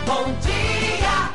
Bom dia,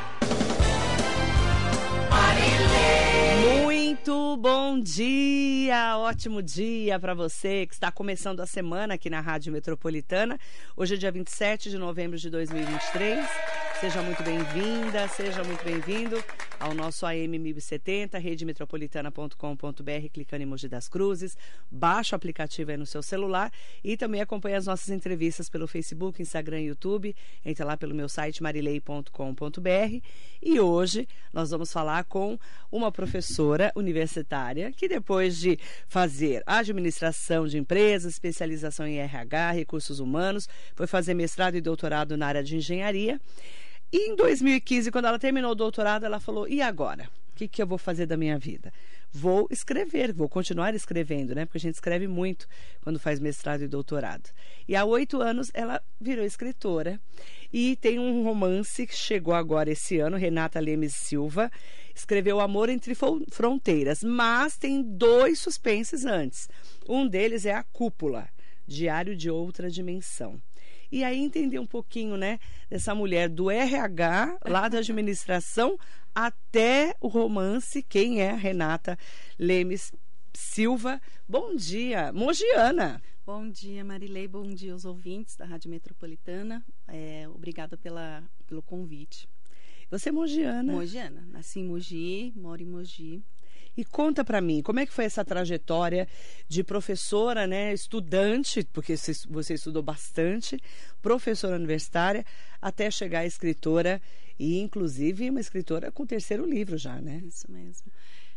Marilê. Muito bom dia, ótimo dia para você que está começando a semana aqui na Rádio Metropolitana. Hoje é dia 27 de novembro de 2023. Seja muito bem-vinda, seja muito bem-vindo ao nosso AM 1070, redemetropolitana.com.br, clicando em Mogi das Cruzes. Baixa o aplicativo aí no seu celular e também acompanha as nossas entrevistas pelo Facebook, Instagram e YouTube. Entra lá pelo meu site marilei.com.br. E hoje nós vamos falar com uma professora universitária que, depois de fazer administração de empresas, especialização em RH, recursos humanos, foi fazer mestrado e doutorado na área de engenharia. E em 2015, quando ela terminou o doutorado, ela falou, e agora? O que eu vou fazer da minha vida? Vou escrever, vou continuar escrevendo, né? Porque a gente escreve muito quando faz mestrado e doutorado. E há 8 anos ela virou escritora e tem um romance que chegou agora esse ano, Renata Lemes Silva, escreveu Amor Entre Fronteiras, mas tem 2 suspenses antes. Um deles é A Cúpula, Diário de Outra Dimensão. E aí entender um pouquinho, né, dessa mulher do RH, lá da administração, até o romance, quem é Renata Lemes Silva. Bom dia, mogiana. Bom dia, Marilei, bom dia aos ouvintes da Rádio Metropolitana. Obrigada pelo convite. Você é mogiana? Mogiana, nasci em Mogi, moro em Mogi. E conta para mim, como é que foi essa trajetória de professora, né, estudante, porque você estudou bastante, professora universitária, até chegar a escritora, e inclusive uma escritora com o 3º livro já, né? Isso mesmo.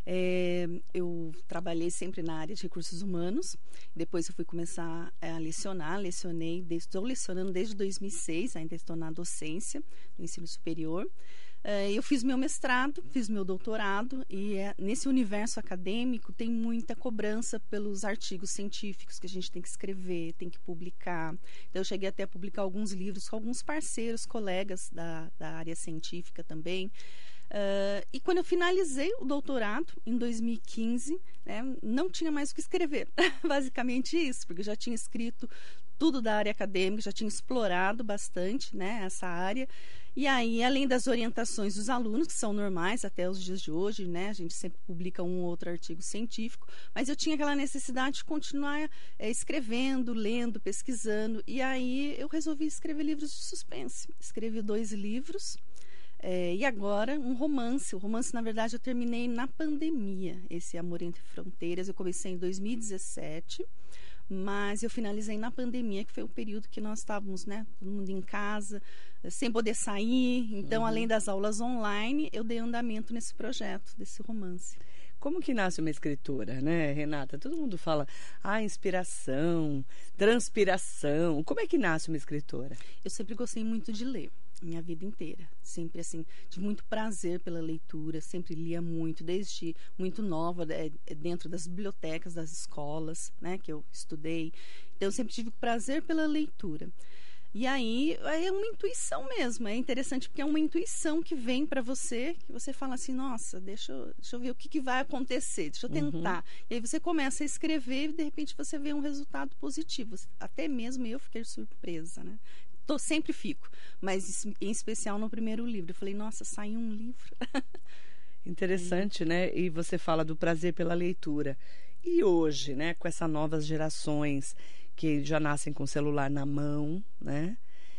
Eu trabalhei sempre na área de recursos humanos, depois eu fui começar a lecionar, estou lecionando desde 2006, ainda estou na docência do ensino superior. Eu fiz meu mestrado, fiz meu doutorado e nesse universo acadêmico tem muita cobrança pelos artigos científicos que a gente tem que escrever, tem que publicar. Então eu cheguei até a publicar alguns livros com alguns parceiros, colegas da área científica também. E quando eu finalizei o doutorado, em 2015, né, não tinha mais o que escrever. Basicamente isso, porque eu já tinha escrito tudo da área acadêmica, já tinha explorado bastante, né, essa área. E aí, além das orientações dos alunos, que são normais até os dias de hoje, né, a gente sempre publica um ou outro artigo científico, mas eu tinha aquela necessidade de continuar escrevendo, lendo, pesquisando. E aí eu resolvi escrever livros de suspense. Escrevi 2 livros. E agora um romance. O romance, na verdade, eu terminei na pandemia, esse Amor Entre Fronteiras. Eu comecei em 2017, mas eu finalizei na pandemia, que foi o período que nós estávamos, né, todo mundo em casa, sem poder sair. Então, além das aulas online, eu dei andamento nesse projeto, desse romance. Como que nasce uma escritora, né, Renata? Todo mundo fala, inspiração, transpiração. Como é que nasce uma escritora? Eu sempre gostei muito de ler, minha vida inteira. Sempre, assim, tive muito prazer pela leitura, sempre lia muito, desde muito nova, dentro das bibliotecas, das escolas, né, que eu estudei. Então, eu sempre tive prazer pela leitura. E aí é uma intuição mesmo, é interessante porque é uma intuição que vem para você, que você fala assim, nossa, deixa eu ver o que vai acontecer, deixa eu tentar. E aí você começa a escrever e de repente você vê um resultado positivo. Até mesmo eu fiquei surpresa, né? Sempre fico, mas em especial no primeiro livro. Eu falei, nossa, saiu um livro. Interessante, né? E você fala do prazer pela leitura. E hoje, né, com essas novas gerações que já nascem com o celular na mão, né?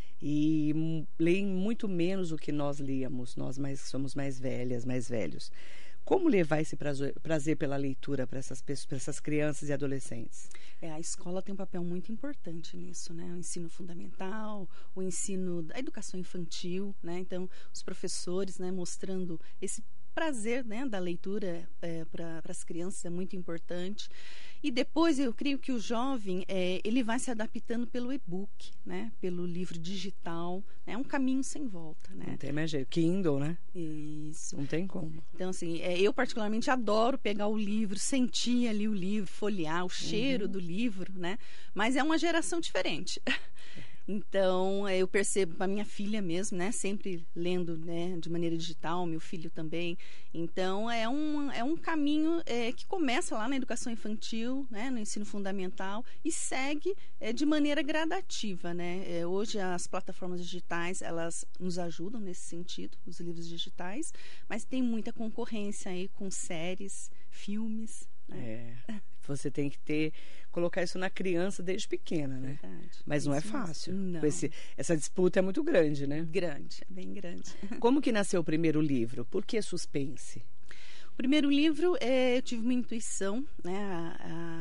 E leem muito menos do que nós líamos, somos mais velhas, mais velhos. Como levar esse prazer pela leitura para essas crianças e adolescentes? A escola tem um papel muito importante nisso, né? O ensino fundamental, o ensino da educação infantil, né? Então, os professores, né, mostrando esse prazer, né, da leitura para as crianças é muito importante. E depois eu creio que o jovem ele vai se adaptando pelo e-book, né, pelo livro digital. É um caminho sem volta, né? Não tem mais jeito. Kindle, né? Isso. Não tem como. Então, assim, eu particularmente adoro pegar o livro, sentir ali o livro, folhear, o cheiro do livro, né? Mas é uma geração diferente. Então, eu percebo a minha filha mesmo, né? Sempre lendo, né? De maneira digital, meu filho também. Então, é um caminho que começa lá na educação infantil, né? No ensino fundamental e segue de maneira gradativa, né? Hoje, as plataformas digitais, elas nos ajudam nesse sentido, os livros digitais, mas tem muita concorrência aí com séries, filmes, né? Você tem que colocar isso na criança desde pequena, né? Verdade. Mas não é Isso mesmo. fácil. Não. Essa disputa é muito grande, né? Grande, é bem grande. Como que nasceu o primeiro livro? Por que suspense? O primeiro livro, eu tive uma intuição, né,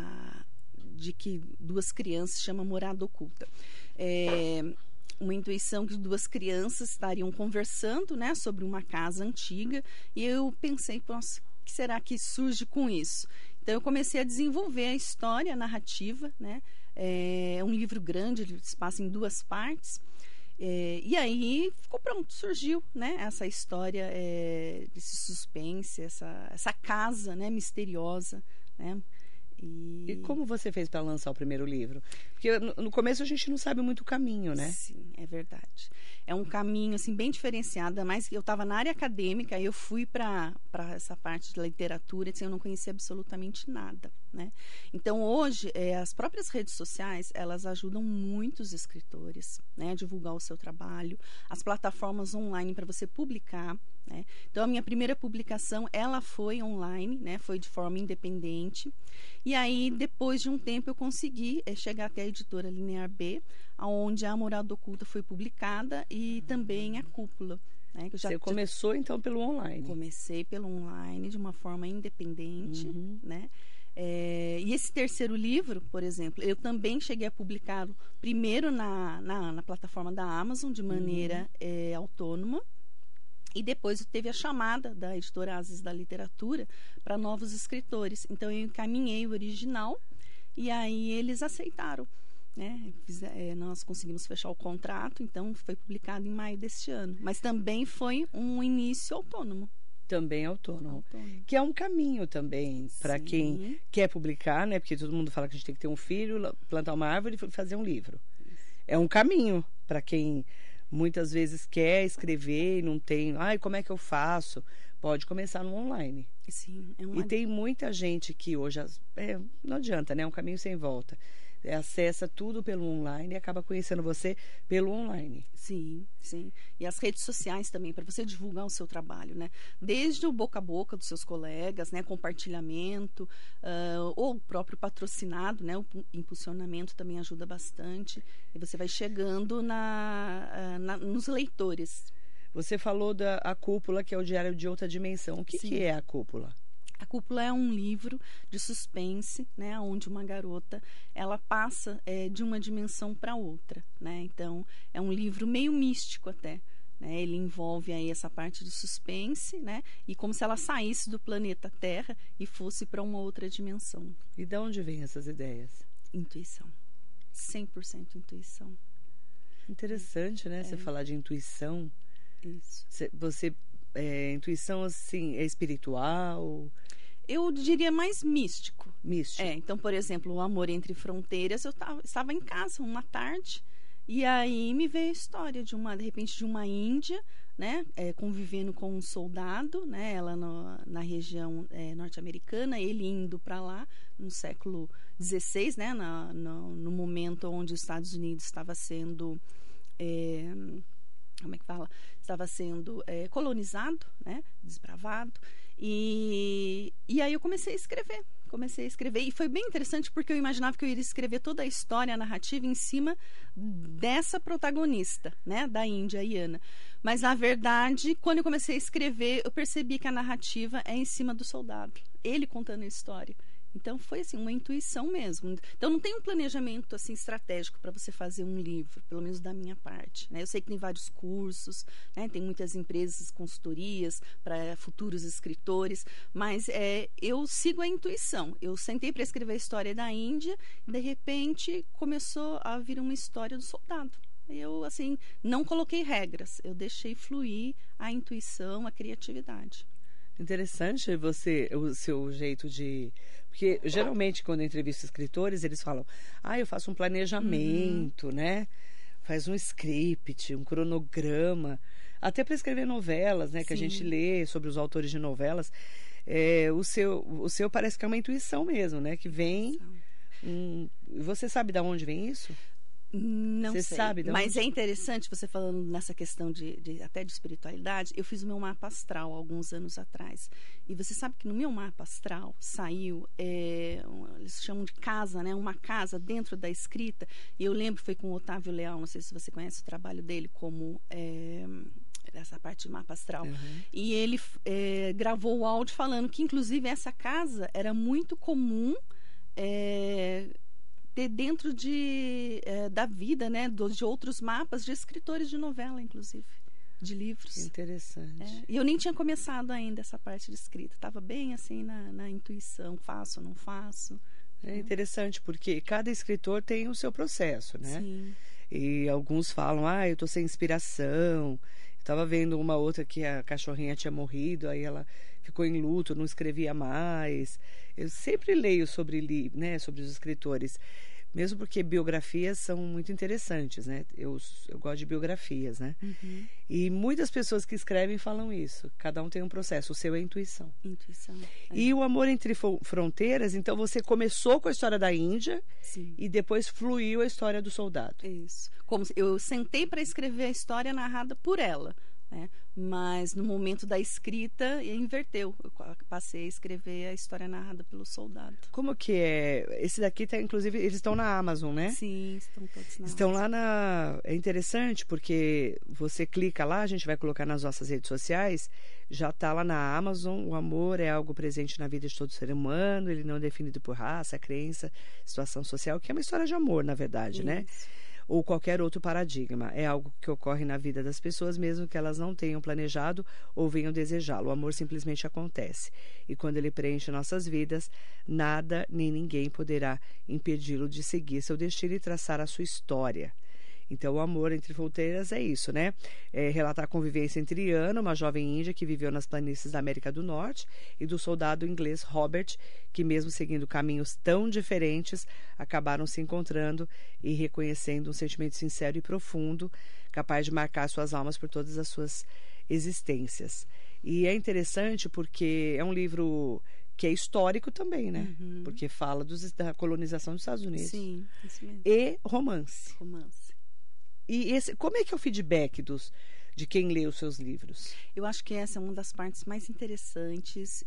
de que duas crianças, chama Morada Oculta. Uma intuição que duas crianças estariam conversando, né, sobre uma casa antiga, e eu pensei, nossa, o que será que surge com isso? Então, eu comecei a desenvolver a história, a narrativa, né? É um livro grande, ele se passa em 2 partes. E aí, ficou pronto, surgiu, né? Essa história desse suspense, essa casa, né? Misteriosa, né? E como você fez para lançar o primeiro livro? Porque no começo a gente não sabe muito o caminho, né? Sim, é verdade. É um caminho assim bem diferenciado, mas eu estava na área acadêmica e eu fui para essa parte de literatura, assim, eu não conhecia absolutamente nada, né? Então hoje as próprias redes sociais, elas ajudam muitos escritores, né, a divulgar o seu trabalho, as plataformas online para você publicar, né? Então a minha primeira publicação, ela foi online, né? Foi de forma independente. E aí depois de um tempo eu consegui chegar até a editora Linear B, onde a Morada Oculta foi publicada e também a Cúpula. Né, que eu Você começou então pelo online? Comecei pelo online de uma forma independente, né? E esse terceiro livro, por exemplo, eu também cheguei a publicá-lo primeiro na plataforma da Amazon de maneira autônoma. E depois teve a chamada da editora Ases da Literatura para novos escritores. Então eu encaminhei o original e aí eles aceitaram, né? Nós conseguimos fechar o contrato, então foi publicado em maio deste ano. Mas também foi um início autônomo. Também autônomo. Que é um caminho também para quem quer publicar, né? Porque todo mundo fala que a gente tem que ter um filho, plantar uma árvore e fazer um livro. É um caminho para quem muitas vezes quer escrever e não tem... como é que eu faço? Pode começar no online. Sim, E tem muita gente que hoje... não adianta, né? É um caminho sem volta. Acessa tudo pelo online e acaba conhecendo você pelo online. Sim, sim. E as redes sociais também, para você divulgar o seu trabalho, né? Desde o boca a boca dos seus colegas, né? Compartilhamento, ou o próprio patrocinado, né? O impulsionamento também ajuda bastante. E você vai chegando nos leitores. Você falou da Cúpula, que é o Diário de Outra Dimensão. O que é a Cúpula? A Cúpula é um livro de suspense, né, onde uma garota ela passa de uma dimensão para outra, né? Então é um livro meio místico até, né? Ele envolve aí essa parte de suspense, né? E como se ela saísse do planeta Terra e fosse para uma outra dimensão. E de onde vêm essas ideias? Intuição, 100% intuição. Interessante, né? Você falar de intuição. Isso. Intuição assim é espiritual? Eu diria mais místico. Místico. Então, por exemplo, o Amor Entre Fronteiras, eu estava em casa uma tarde e aí me veio a história de repente de uma índia, né, convivendo com um soldado, né, ela na região norte-americana, ele indo para lá no século XVI, né, no momento onde os Estados Unidos estava sendo estava sendo colonizado, né, desbravado, e aí eu comecei a escrever e foi bem interessante porque eu imaginava que eu iria escrever toda a história, a narrativa em cima dessa protagonista, né, da Índia, Iana, mas na verdade quando eu comecei a escrever eu percebi que a narrativa é em cima do soldado, ele contando a história. Então foi assim uma intuição mesmo. Então não tem um planejamento assim estratégico para você fazer um livro, pelo menos da minha parte, né? Eu sei que tem vários cursos, né? Tem muitas empresas, consultorias para futuros escritores, mas eu sigo a intuição. Eu sentei para escrever a história da Índia e de repente começou a vir uma história do soldado. Eu assim não coloquei regras, eu deixei fluir a intuição, a criatividade. Interessante o seu jeito de... Porque, geralmente, quando eu entrevisto escritores, eles falam... eu faço um planejamento, né? faz um script, um cronograma, até para escrever novelas, né? Que a Sim. gente lê sobre os autores de novelas. O seu parece que é uma intuição mesmo, né? Que vem. Você sabe de onde vem isso? Não Você sei, sabe de mas onde? é interessante você falando nessa questão até de espiritualidade. Eu fiz o meu mapa astral alguns anos atrás. E você sabe que no meu mapa astral saiu, eles chamam de casa, né? Uma casa dentro da escrita. E eu lembro, foi com o Otávio Leal, não sei se você conhece o trabalho dele, como essa parte de mapa astral. Uhum. E ele gravou o áudio falando que, inclusive, essa casa era muito comum ter dentro da vida, né, de outros mapas de escritores de novela, inclusive, de livros. Interessante. E eu nem tinha começado ainda essa parte de escrita, estava bem assim na intuição, faço ou não faço. É interessante porque cada escritor tem o seu processo, né? Sim. E alguns falam, eu tô sem inspiração. Estava vendo uma outra que a cachorrinha tinha morrido, aí ela ficou em luto, não escrevia mais. Eu sempre leio sobre, né, sobre os escritores, mesmo porque biografias são muito interessantes, né? Eu gosto de biografias, né? Uhum. E muitas pessoas que escrevem falam isso. Cada um tem um processo, o seu é intuição. Intuição. E o Amor Entre Fronteiras, então você começou com a história da Índia Sim. e depois fluiu a história do soldado. Isso. Como eu sentei para escrever a história narrada por ela, né? Mas no momento da escrita inverteu. Eu passei a escrever a história narrada pelo soldado. Como que é? Esse daqui tá, inclusive, eles estão na Amazon, né? Sim, estão todos na Estão Amazon. lá na... É interessante porque você clica lá, a gente vai colocar nas nossas redes sociais, já tá lá na Amazon. O amor é algo presente na vida de todo ser humano, ele não é definido por raça, crença, situação social, que é uma história de amor, na verdade, né? Isso. Ou qualquer outro paradigma. É algo que ocorre na vida das pessoas, mesmo que elas não tenham planejado ou venham desejá-lo. O amor simplesmente acontece. E quando ele preenche nossas vidas, nada nem ninguém poderá impedi-lo de seguir seu destino e traçar a sua história. Então, o Amor Entre Fronteiras é isso, né? É relatar a convivência entre Ana, uma jovem índia que viveu nas planícies da América do Norte, e do soldado inglês Robert, que mesmo seguindo caminhos tão diferentes, acabaram se encontrando e reconhecendo um sentimento sincero e profundo, capaz de marcar suas almas por todas as suas existências. E é interessante porque é um livro que é histórico também, né? Uhum. Porque fala da colonização dos Estados Unidos. Sim, isso mesmo. E romance. Romance. E como é que é o feedback de quem lê os seus livros? Eu acho que essa é uma das partes mais interessantes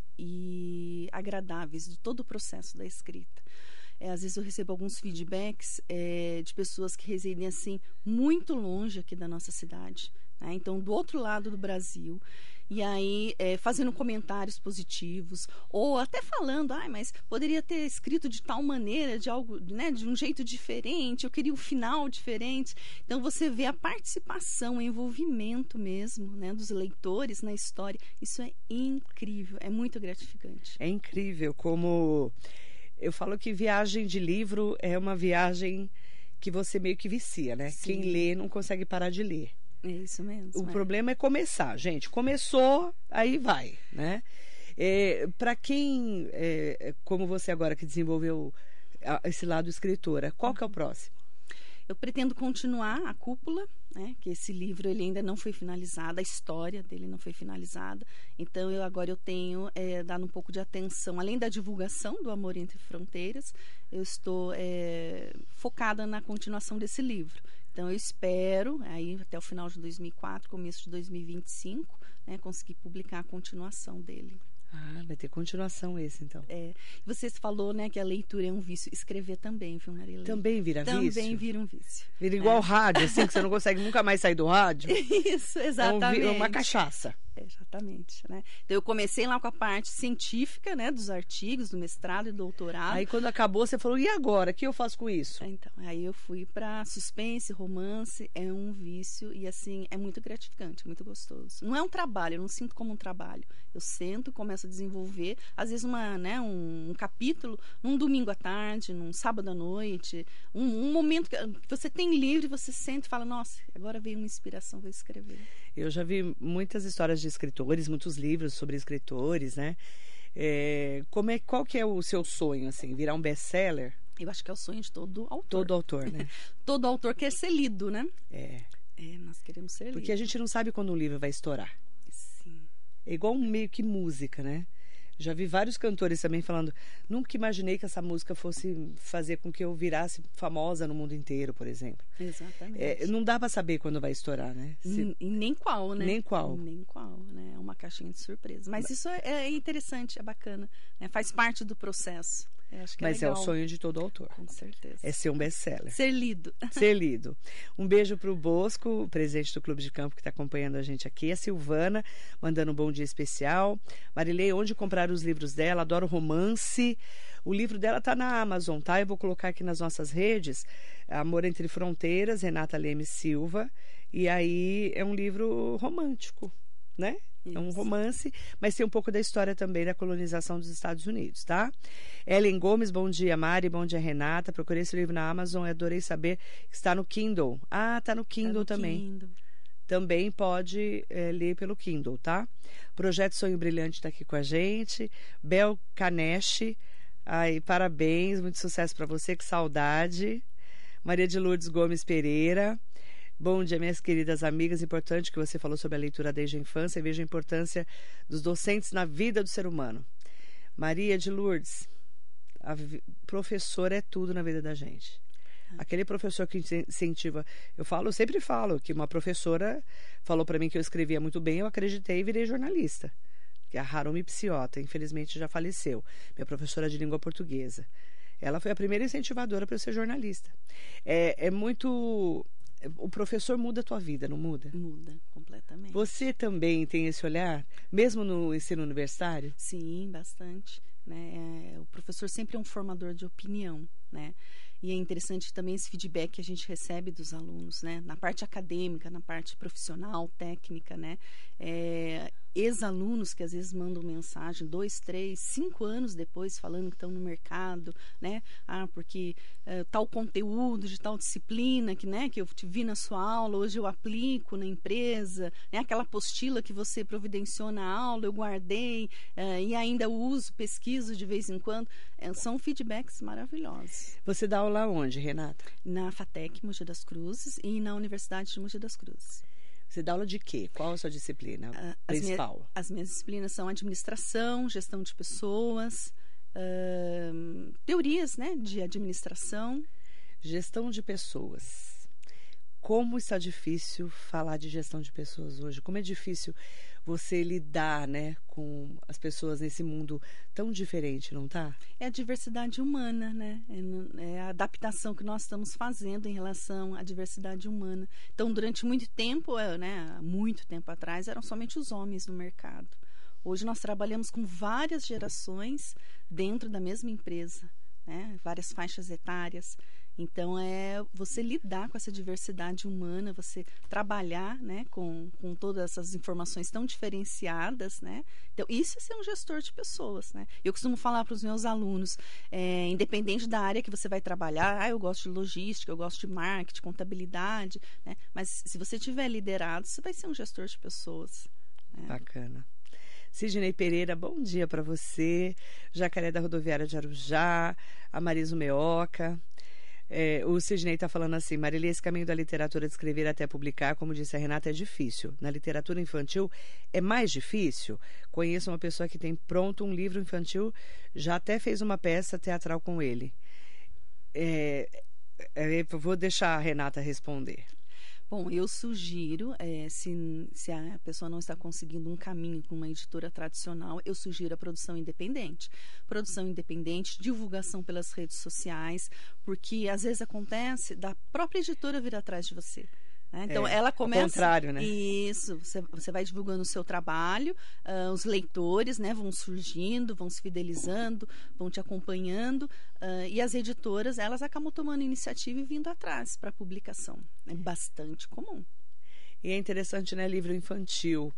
e agradáveis de todo o processo da escrita. Às vezes eu recebo alguns feedbacks de pessoas que residem assim muito longe aqui da nossa cidade, né? Então, do outro lado do Brasil. E aí, fazendo comentários positivos, ou até falando, mas poderia ter escrito de tal maneira, de algo, né, de um jeito diferente, eu queria um final diferente. Então, você vê a participação, o envolvimento mesmo, né, dos leitores na história. Isso é incrível, é muito gratificante. É incrível como... Eu falo que viagem de livro é uma viagem que você meio que vicia, né? Sim. Quem lê não consegue parar de ler. É isso mesmo. O problema é começar, gente. Começou, aí vai, né? Para quem, como você agora que desenvolveu esse lado escritora, qual que é o próximo? Eu pretendo continuar a Cúpula, né? Que esse livro ele ainda não foi finalizado, a história dele não foi finalizada. Então, agora eu tenho dado um pouco de atenção, além da divulgação do Amor Entre Fronteiras, eu estou focada na continuação desse livro. Então, eu espero, aí até o final de 2004, começo de 2025, né, conseguir publicar a continuação dele. Vai ter continuação esse, então. Você falou, né, que a leitura é um vício. Escrever também, viu, Marilene? Também vira vício? Também vira um vício. Vira igual rádio, assim, que você não consegue nunca mais sair do rádio? Isso, exatamente. É uma cachaça. Exatamente, né? Então, eu comecei lá com a parte científica, né, dos artigos, do mestrado e doutorado. Aí, quando acabou, você falou, e agora? O que eu faço com isso? Então, aí eu fui para suspense, romance, é um vício e, assim, é muito gratificante, muito gostoso. Não é um trabalho, eu não sinto como um trabalho. Eu sento, começo a desenvolver, às vezes um capítulo, num domingo à tarde, num sábado à noite, um momento que você tem livre, você sente e fala, nossa, agora veio uma inspiração, vou escrever. Eu já vi muitas histórias de escritores, muitos livros sobre escritores, né? Qual que é o seu sonho, assim? Virar um best-seller? Eu acho que é o sonho de todo autor. Todo autor, né? Todo autor quer ser lido, né? É. Nós queremos ser lidos. Porque a gente não sabe quando um livro vai estourar. Sim. É igual meio que música, né? Já vi vários cantores também falando, nunca imaginei que essa música fosse fazer com que eu virasse famosa no mundo inteiro, por exemplo. Exatamente. Não dá pra saber quando vai estourar, né? E nem qual, né? Nem qual. Nem qual, né? É uma caixinha de surpresa. Mas isso é interessante, é bacana. Né? Faz parte do processo. Acho que Mas legal. é o sonho de todo autor. Com certeza. É ser um best-seller. Ser lido. Ser lido. Um beijo pro Bosco, o presidente do Clube de Campo que está acompanhando a gente aqui. A Silvana, mandando um bom dia especial. Marilei, onde comprar os livros dela? Adoro romance. O livro dela está na Amazon, tá? Eu vou colocar aqui nas nossas redes. Amor Entre Fronteiras, Renata Leme Silva. E aí é um livro romântico, né? É um romance, mas tem um pouco da história também da colonização dos Estados Unidos, tá? Ellen Gomes, bom dia, Mari, bom dia, Renata. Procurei esse livro na Amazon e adorei saber que está no Kindle. Ah, tá no Kindle também. Kindle. Também pode ler pelo Kindle, tá? Projeto Sonho Brilhante está aqui com a gente. Bel Caneche, ai, parabéns, muito sucesso para você, que saudade. Maria de Lourdes Gomes Pereira. Bom dia, minhas queridas amigas. Importante que você falou sobre a leitura desde a infância e vejo a importância dos docentes na vida do ser humano. Maria de Lourdes, professor é tudo na vida da gente. Aquele professor que incentiva... Eu sempre falo que uma professora falou para mim que eu escrevia muito bem, eu acreditei e virei jornalista. Que é a Harumi Psiota, infelizmente já faleceu. Minha professora de língua portuguesa. Ela foi a primeira incentivadora para eu ser jornalista. É muito... O professor muda a tua vida, não muda? Muda, completamente. Você também tem esse olhar, mesmo no ensino universitário? Sim, bastante. Né? O professor sempre é um formador de opinião, né? E é interessante também esse feedback que a gente recebe dos alunos, né? Na parte acadêmica, na parte profissional, técnica, né? Ex-alunos que às vezes mandam mensagem 2, 3, 5 anos depois falando que estão no mercado, né? Porque tal conteúdo de tal disciplina que eu te vi na sua aula, hoje eu aplico na empresa, né? Aquela apostila que você providenciou na aula, eu guardei e ainda uso, pesquiso de vez em quando. São feedbacks maravilhosos. Você dá aula onde, Renata? Na FATEC, Mogi das Cruzes, e na Universidade de Mogi das Cruzes. Você dá aula de quê? Qual a sua disciplina principal? As minhas disciplinas são administração, gestão de pessoas, teorias, né, de administração. Gestão de pessoas. Como está difícil falar de gestão de pessoas hoje? Como é difícil você lidar, né, com as pessoas nesse mundo tão diferente, não tá? É a diversidade humana, né? É a adaptação que nós estamos fazendo em relação à diversidade humana. Então, durante muito tempo, né, muito tempo atrás, eram somente os homens no mercado. Hoje nós trabalhamos com várias gerações dentro da mesma empresa, né? Várias faixas etárias. Então, é você lidar com essa diversidade humana, você trabalhar, né, com todas essas informações tão diferenciadas, né? Então, isso é ser um gestor de pessoas, né? Eu costumo falar para os meus alunos, independente da área que você vai trabalhar, eu gosto de logística, eu gosto de marketing, contabilidade, né? Mas se você tiver liderado, você vai ser um gestor de pessoas. Né? Bacana. Sidney Pereira, bom dia para você. Jacaré da Rodoviária de Arujá, a Marisa Meoca. O Sidney está falando assim, Marília, esse caminho da literatura de escrever até publicar, como disse a Renata, é difícil. Na literatura infantil é mais difícil. Conheço uma pessoa que tem pronto um livro infantil, já até fez uma peça teatral com ele. Vou deixar a Renata responder. Bom, eu sugiro, se a pessoa não está conseguindo um caminho com uma editora tradicional, eu sugiro a produção independente. Produção independente, divulgação pelas redes sociais, porque às vezes acontece da própria editora vir atrás de você. Né? Então, ela começa... Ao contrário, né? Isso, você vai divulgando o seu trabalho, os leitores, né, vão surgindo, vão se fidelizando, vão te acompanhando, e as editoras, elas acabam tomando iniciativa e vindo atrás para a publicação. É bastante comum. E é interessante, né, livro infantil.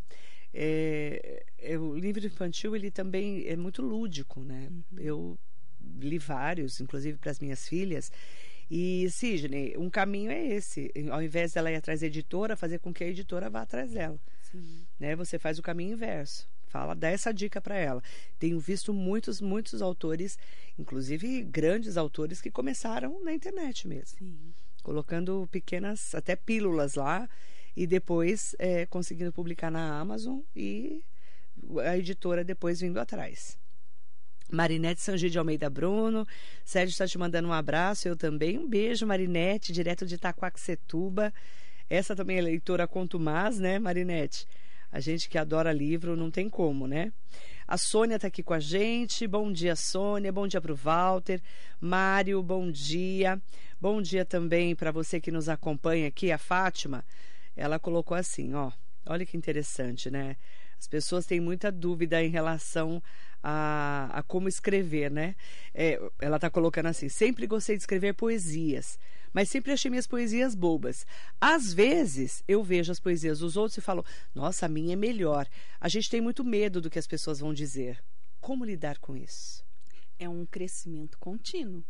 O livro infantil, ele também é muito lúdico, né? Uhum. Eu li vários, inclusive para as minhas filhas, E, Sidney, um caminho é esse. Ao invés dela ir atrás da editora, fazer com que a editora vá atrás dela. Sim. Né? Você faz o caminho inverso. Dá essa dica para ela. Tenho visto muitos autores, inclusive grandes autores, que começaram na internet mesmo. Sim. Colocando pequenas, até pílulas lá, e depois conseguindo publicar na Amazon e a editora depois vindo atrás. Marinete Sangi de Almeida Bruno, Sérgio está te mandando um abraço, eu também. Um beijo, Marinete, direto de Itaquaquecetuba. Essa também é leitora contumaz, né, Marinete? A gente que adora livro, não tem como, né? A Sônia está aqui com a gente. Bom dia, Sônia. Bom dia para o Walter. Mário, bom dia. Bom dia também para você que nos acompanha aqui, a Fátima. Ela colocou assim, ó. Olha que interessante, né? As pessoas têm muita dúvida em relação a como escrever, né? Ela está colocando assim, sempre gostei de escrever poesias, mas sempre achei minhas poesias bobas. Às vezes, eu vejo as poesias dos outros e falo, nossa, a minha é melhor. A gente tem muito medo do que as pessoas vão dizer. Como lidar com isso? É um crescimento contínuo.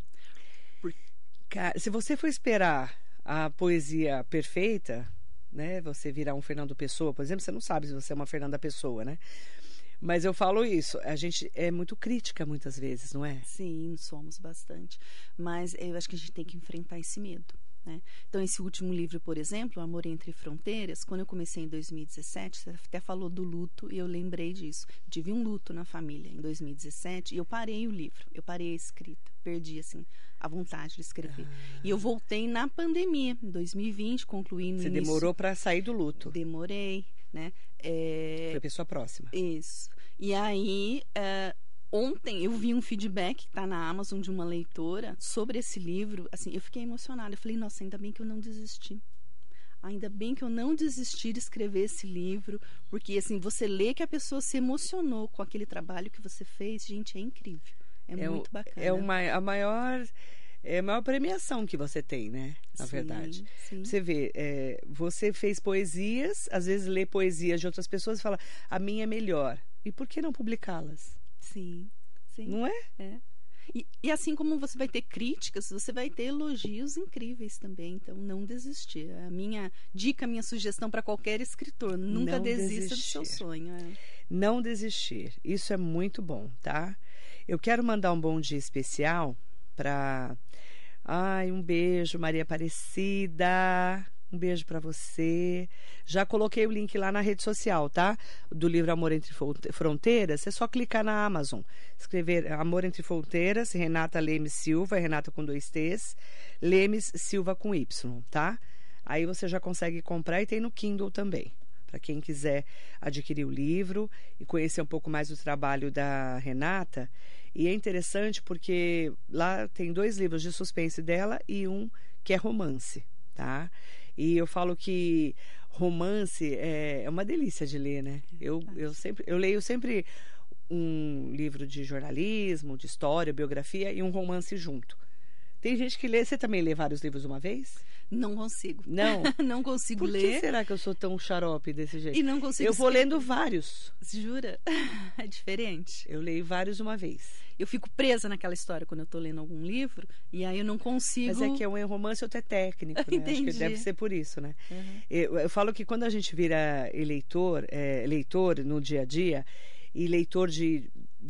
Se você for esperar a poesia perfeita, né? Você virar um Fernando Pessoa, por exemplo, você não sabe se você é uma Fernanda Pessoa, né? Mas eu falo isso, a gente é muito crítica muitas vezes, não é? Sim, somos bastante. Mas eu acho que a gente tem que enfrentar esse medo, né? Então, esse último livro, por exemplo, Amor Entre Fronteiras, quando eu comecei em 2017, você até falou do luto e eu lembrei disso. Eu tive um luto na família em 2017 e eu parei o livro, eu parei a escrita, perdi, assim, a vontade de escrever. E eu voltei na pandemia, em 2020, concluí no Você início. demorou para sair do luto. Demorei, né? Foi pessoa próxima. Isso. E aí, ontem eu vi um feedback que está na Amazon de uma leitora sobre esse livro. Assim, eu fiquei emocionada. Eu falei, nossa, ainda bem que eu não desisti. Ainda bem que eu não desisti de escrever esse livro, porque assim, você lê que a pessoa se emocionou com aquele trabalho que você fez, gente, é incrível. É muito bacana. A maior premiação que você tem, né? Na verdade. Sim. Você vê, você fez poesias, às vezes lê poesias de outras pessoas e fala, a minha é melhor. E por que não publicá-las? Sim. Não é? É. E assim como você vai ter críticas, você vai ter elogios incríveis também. Então, não desistir. A minha dica, a minha sugestão para qualquer escritor, nunca Não desista do desistir. seu sonho. Não desistir. Isso é muito bom, tá? Eu quero mandar um bom dia especial para... um beijo, Maria Aparecida. Um beijo para você. Já coloquei o link lá na rede social, tá? Do livro Amor Entre Fronteiras. É só clicar na Amazon. Escrever Amor Entre Fronteiras, Renata Lemes Silva, Renata com 2 T's, Lemes Silva com Y, tá? Aí você já consegue comprar e tem no Kindle também. Para quem quiser adquirir o livro e conhecer um pouco mais do trabalho da Renata. E é interessante porque lá tem 2 livros de suspense dela e um que é romance, tá? E eu falo que romance é uma delícia de ler, né? Eu leio sempre um livro de jornalismo, de história, biografia e um romance junto. Tem gente que lê... Você também lê vários livros de uma vez? Não consigo. Não? Não consigo ler. Por que será que eu sou tão xarope desse jeito? E não consigo Eu vou lendo vários. Jura? É diferente. Eu leio vários de uma vez. Eu fico presa naquela história quando eu tô lendo algum livro e aí eu não consigo... Mas é que é um romance, outro é técnico, né? Entendi. Acho que deve ser por isso, né? Uhum. Eu falo que quando a gente vira leitor no dia a dia e leitor de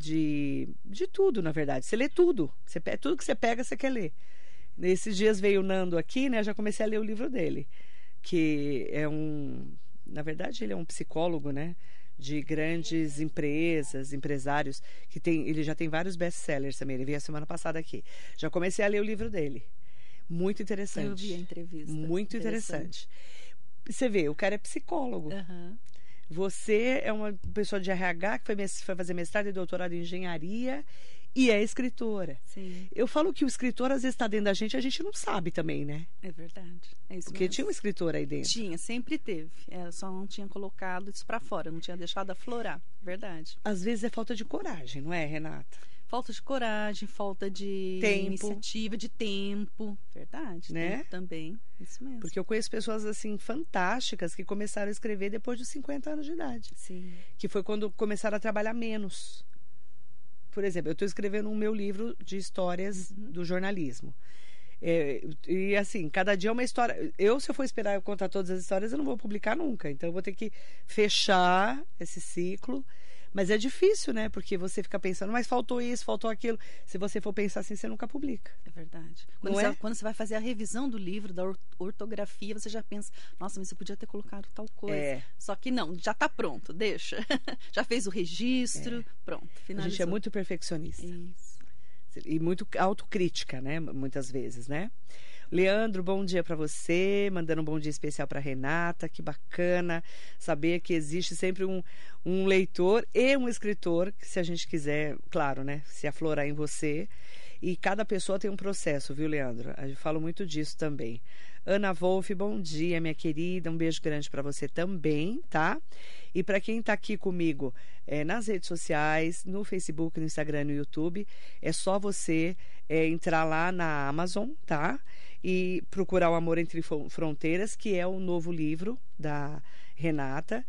tudo, na verdade. Você lê tudo. Tudo que você pega, você quer ler. Nesses dias veio o Nando aqui, né? Já comecei a ler o livro dele. Que é na verdade, ele é um psicólogo, né? De grandes empresas, empresários, ele já tem vários best-sellers também. Ele veio a semana passada aqui. Já comecei a ler o livro dele. Muito interessante. Eu vi a entrevista. Muito interessante. Você vê, o cara é psicólogo. Uhum. Você é uma pessoa de RH que foi fazer mestrado e doutorado em engenharia e é escritora. Sim. Eu falo que o escritor às vezes está dentro da gente, a gente não sabe também, né? É verdade. É isso Porque mesmo. tinha um escritor aí dentro. Tinha, sempre teve. Só não tinha colocado isso para fora, não tinha deixado aflorar. Verdade. Às vezes é falta de coragem, não é, Renata? Falta de coragem, falta de tempo. iniciativa, de tempo. Verdade, né? Tempo também. Isso mesmo. Porque eu conheço pessoas assim fantásticas que começaram a escrever depois dos 50 anos de idade. Sim. Que foi quando começaram a trabalhar menos. Por exemplo, eu estou escrevendo um meu livro de histórias do jornalismo. E assim, cada dia é uma história. Se eu for esperar eu contar todas as histórias, eu não vou publicar nunca. Então eu vou ter que fechar esse ciclo. Mas é difícil, né? Porque você fica pensando, mas faltou isso, faltou aquilo. Se você for pensar assim, você nunca publica. É verdade. Quando você vai fazer a revisão do livro, da ortografia, você já pensa, nossa, mas você podia ter colocado tal coisa. Só que não, já está pronto, deixa. Já fez o registro, pronto, finalizou. A gente é muito perfeccionista. Isso. E muito autocrítica, né? Muitas vezes, né? Leandro, bom dia para você, mandando um bom dia especial para Renata, que bacana saber que existe sempre um leitor e um escritor, que se a gente quiser, claro, né, se aflorar em você, e cada pessoa tem um processo, viu, Leandro? Eu falo muito disso também. Ana Wolff, bom dia, minha querida, um beijo grande para você também, tá? E para quem está aqui comigo nas redes sociais, no Facebook, no Instagram, no YouTube, é só você entrar lá na Amazon, tá? E procurar O Amor Entre Fronteiras, que é o novo livro da Renata,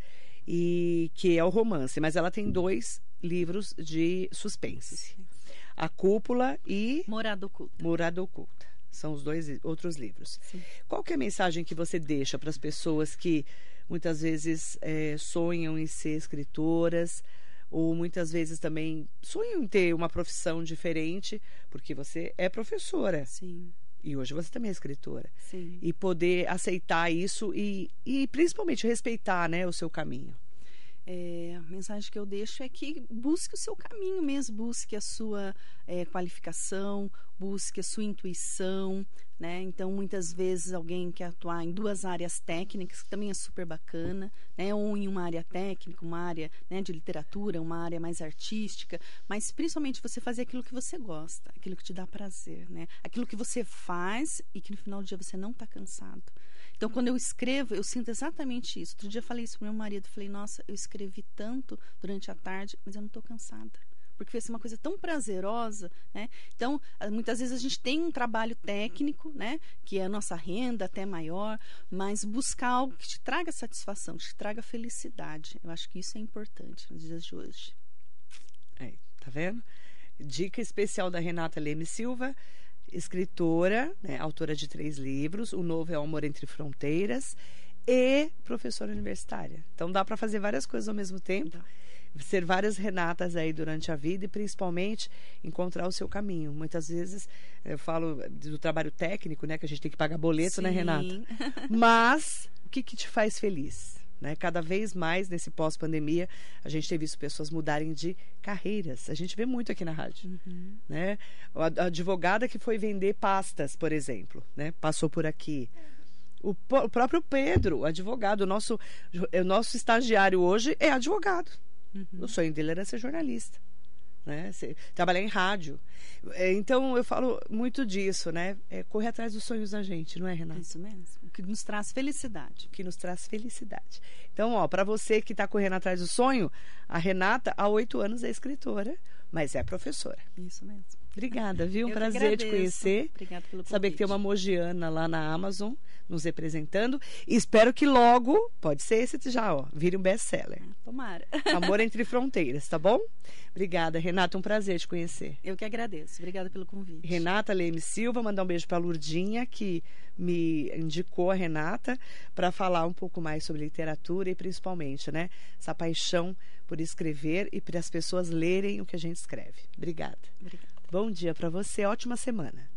e que é o romance. Mas ela tem 2 livros de suspense. A Cúpula e Morada Oculta. Morada Oculta. São os 2 outros livros. Sim. Qual que é a mensagem que você deixa para as pessoas que muitas vezes sonham em ser escritoras, ou muitas vezes também sonham em ter uma profissão diferente, porque você é professora. Sim. E hoje você também é escritora. Sim. E poder aceitar isso e principalmente respeitar, né, o seu caminho. A mensagem que eu deixo é que busque o seu caminho mesmo, busque a sua qualificação, busque a sua intuição, né? Então, muitas vezes alguém quer atuar em 2 áreas técnicas, que também é super bacana, né? Ou em uma área técnica, uma área, né, de literatura, uma área mais artística, mas principalmente você fazer aquilo que você gosta, aquilo que te dá prazer, né? Aquilo que você faz e que no final do dia você não está cansado. Então, quando eu escrevo, eu sinto exatamente isso. Outro dia eu falei isso para meu marido, falei, nossa, eu escrevi tanto durante a tarde, mas eu não estou cansada. Porque foi uma coisa tão prazerosa, né? Então, muitas vezes a gente tem um trabalho técnico, né? Que é a nossa renda até maior, mas buscar algo que te traga satisfação, que te traga felicidade. Eu acho que isso é importante nos dias de hoje. Tá vendo? Dica especial da Renata Leme Silva, escritora, né, autora de 3 livros. O novo é O Amor Entre Fronteiras e professora universitária. Então dá para fazer várias coisas ao mesmo tempo, ser várias Renatas aí durante a vida e principalmente encontrar o seu caminho. Muitas vezes eu falo do trabalho técnico, né, que a gente tem que pagar boleto, né, Renata? Mas o que te faz feliz? Né? Cada vez mais nesse pós-pandemia a gente tem visto pessoas mudarem de carreiras. A gente vê muito aqui na rádio, né? A advogada que foi vender pastas, por exemplo, né? Passou por aqui. O próprio Pedro, advogado, o nosso estagiário hoje é advogado. O sonho dele era ser jornalista, né? Trabalhar em rádio. Então eu falo muito disso, né? Correr atrás dos sonhos da gente, não é, Renata? Isso mesmo. O que nos traz felicidade. O que nos traz felicidade. Então, ó, para você que está correndo atrás do sonho, a Renata, há 8 anos, é escritora, mas é professora. Isso mesmo. Obrigada, viu? Um prazer te conhecer. Obrigada pelo convite. Saber que tem uma mogiana lá na Amazon nos representando. E espero que logo, pode ser esse já, ó, vire um best-seller. Tomara. Amor Entre Fronteiras, tá bom? Obrigada, Renata. Um prazer te conhecer. Eu que agradeço. Obrigada pelo convite. Renata Leme Silva, mandar um beijo para a Lurdinha, que me indicou a Renata para falar um pouco mais sobre literatura e principalmente, né, essa paixão por escrever e para as pessoas lerem o que a gente escreve. Obrigada. Obrigada. Bom dia para você, ótima semana.